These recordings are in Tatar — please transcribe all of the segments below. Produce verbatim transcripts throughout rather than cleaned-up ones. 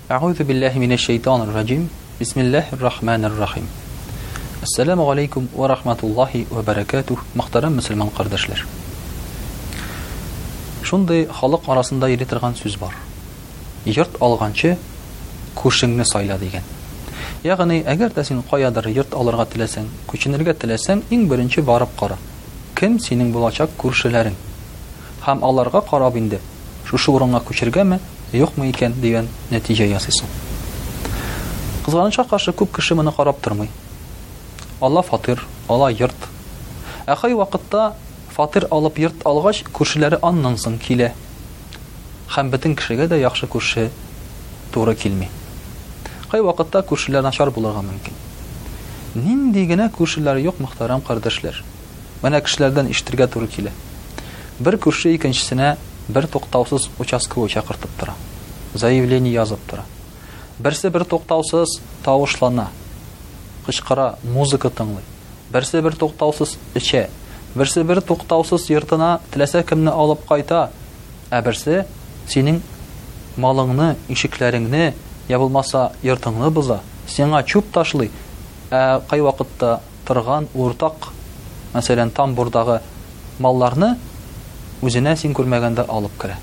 А'удhu billahi minash shaytanir rajim. Bismillahir rahmanir rahim. Assalamu alaykum wa rahmatullahi wa barakatuh. Muhtaram musulmon qardoshlar. Шундай халык арасында йөри торган сүз бар. Йорт алганчы күршеңне сайла дигән. Ягъни, әгәр дә син каядыр йорт алырга теләсәң, күченергә теләсәң, иң беренче барып кара. Кем синең булачак күршеләрең? Һәм аларга карап инде, шушы урынга күчергәме, юкмы икән дигән нәтиҗә ясыйсың. Кызганычка каршы күп кеше моны карап тормый. Алла фатир, ала йорт. Ә кай вакытта фатир алып йорт алгач, күршеләре аннан соң килә. Һәм бөтен кешегә дә яхшы күрше туры килми. Кай вакытта күршеләр начар булырга мөмкин. Нинди генә күршеләр юк, мөхтәрәм кардәшләр. Менә кешеләрдән ишетергә туры килә. Бер күрше икенчесенә бер туктаусыз участковый чакыртып тора. Заявление язып тора. Берсе бер туктаусыз тавышлана, кычкыра, музыка тыңлый. Берсе бер туктаусыз эчә. Берсе бер туктаусыз йортына теләсә кемне алып кайта. Ә берсе синең малыңны, ишекләреңне, я булмаса йортыңны боза, сиңа чүп ташлый. Ә кай вакытта торган уртак, мәсәлән, тамбурдагы малларны үзенә син күрмәгәндә алып керә.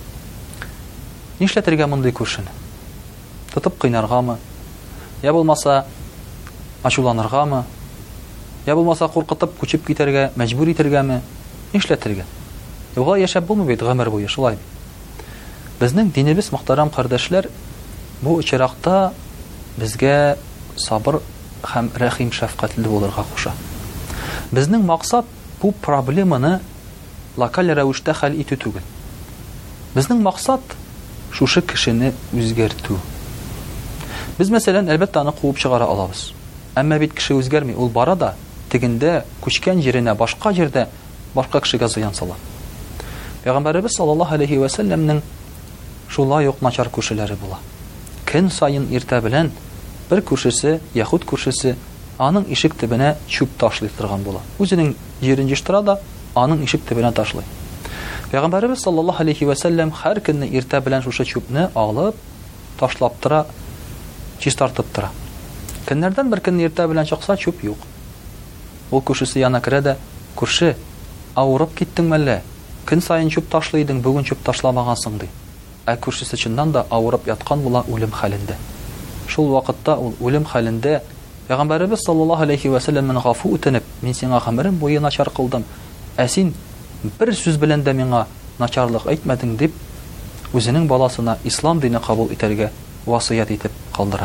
Нишләтергә мондый күршене? Тотып кыйнаргамы? Я булмаса ачуланыргамы? Я булмаса куркытып күчеп китәргә, мәҗбүр итәргәме? Нишләтергә? Югы яшәп булмый бит гомер буе, шулай. Безнең динебез, мөхтәрәм кардәшләр, бу очракта безгә сабыр һәм рәхим шәфкатьле булырга куша. Безнең максат бу проблеманы локаль рәвештә хәл итү түгел. Безнең максат шушы кешене үзгәртү. Без, мәсәлән, әлбәттә аны куып чыгара алабыз. Әмма бит кеше үзгәрми, ул бара да тегендә күчкән җиренә, башка җирдә башка кешегә зыян сала. Пәйгамбәрбез саллаллаһу алейхи ва сәлләмнең шулай ук начар күршеләре була. Көн сайын иртә белән бер күршесе, яхуд күршесе, аның ишек төбенә чүп ташлый торган була. Үзенең җирен җыштыра да аның ишек төбенә ташлый. Пәйгамбәрбез саллаллаһу алейхи ва сәлләм һәр көнне иртә белән шушы чүпне алып, ташлап тора, чистартып тора. Көннәрдән бер көнне иртә белән чыкса, чүп юк. Ул күршесе яна керә дә: "Күрше, авырып киттеңме әллә? Көн сайын чүп ташлыйдың, бүген чүп ташламагансың" ди. Ә күршесе чыннан да авырып яткан була, үлем хәлендә. Шул вакытта ул үлем хәлендә Пәйгамбәрбез саллаллаһу алейхи ва сәлләмнән гафу үтенеп: "Мин сиңа гомерем буе начар кылдым. Ә син бер сүз белән дә миңа начарлык әйтмәдең" дип, үзенең баласына ислам дине кабул итәргә васыят итеп калдыра.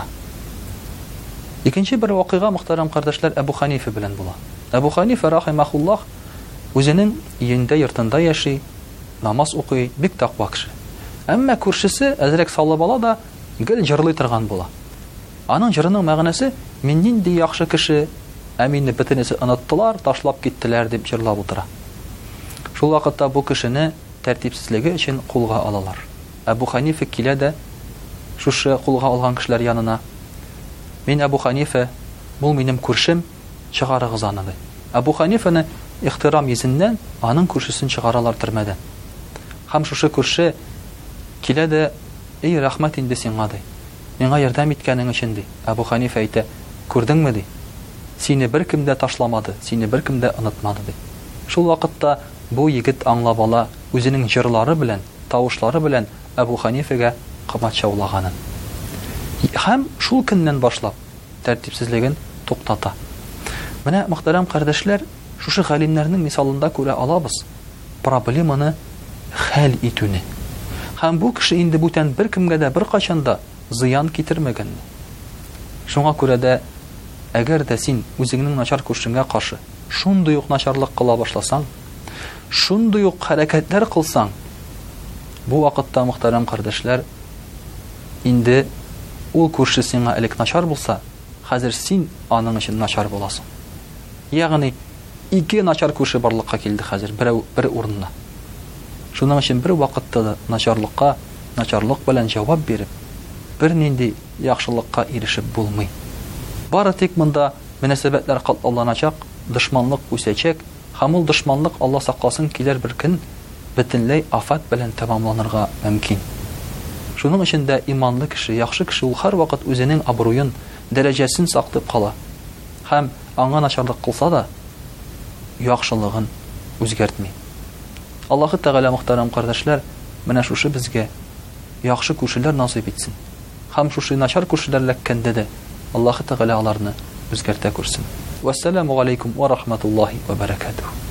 Икенче бер вакыйга, мөхтәрәм кардәшләр, Әбу Ханифа белән була. Әбу Ханифа рахимахуллаһ үзенең йөндә йортында яши, намаз укый, бик тақва кеше. Әмма күршесе әзрәк салы бала да гел җырлый торган була. Аның җырының мәгънәсе: "Мин нинди яхшы кеше, ә мине бөтенесе оныттылар, ташлап киттеләр" дип җырлап утыра. Шул вакытта бу кешене тәртипсезлеге өчен кулга алалар. Әбу Ханифа килә дә шушы кулга алган кешеләр янына: "Мин Әбу Ханифа, бу минем күршем, чыгарыгыз аны" ди. Әбу Ханифаны ихтирам йөзеннән аның күршесен чыгаралар төрмәдән. Һәм шушы күрше килә дә: "Эй, рәхмәт инде сиңа" ди. "Миңа ярдәм иткәнең өчен" ди. Әбу Ханифа әйтә: "Күрдеңме" ди. "Сине беркем дә ташламады, сине беркем дә онытмады" ди. Шул вакытта бу егет аңлап ала, үзенең җырлары белән, тавышлары белән Әбу Ханифага кымат чаулаганын. Һәм шул көннән башлап тәртипсезлеген туктата. Менә, мөхтәрәм кардәшләр, шушы галимнәрнең мисалында күрә алабыз проблеманы хәл итүне. Һәм бу кеше инде бүтән беркемгә дә беркайчанда зыян китермәгән. Шуңа күрә дә әгәр дә син үзеңнең начар күршеңгә каршы шундый ук начарлык кыла башласаң, шундый ук хәрәкәтләр кылсаң, бу вакытта, мөхтәрәм кардәшләр, инде ул күрше сиңа элек начар булса, хәзер син аның өчен начар буласың. Ягъни ике начар күрше барлыкка килде хәзер берәү бер урынна. Шуның өчен бер вакытта начарлыкка начарлык белән җавап биреп, бер нинди яхшылыкка ирешеп булмый. Бары тик монда мөнәсәбәтләр катлауланачак, дошманлык үсәчәк, һәм ул дошманлык, Алла сакласын, килер бер көн бөтенләй афат белән тәмамланырга мөмкин. Шуның өчен дә иманлы кеше, яхшы кеше ул һәрвакыт үзенең абруен, дәрәҗәсен саклап кала. Һәм аңа начарлык кылса да, яхшылыгын үзгәртми. Аллаһы Тәгалә, мөхтәрәм кардәшләр, менә шушы безгә яхшы күршеләр насыйп итсен. Һәм шушы начар күршеләр ләккәндә дә Аллаһы Тәгалә аларны үзгәртә күрсен. Вассаламу алейкум ва рахматуллаһи ва баракатуһ.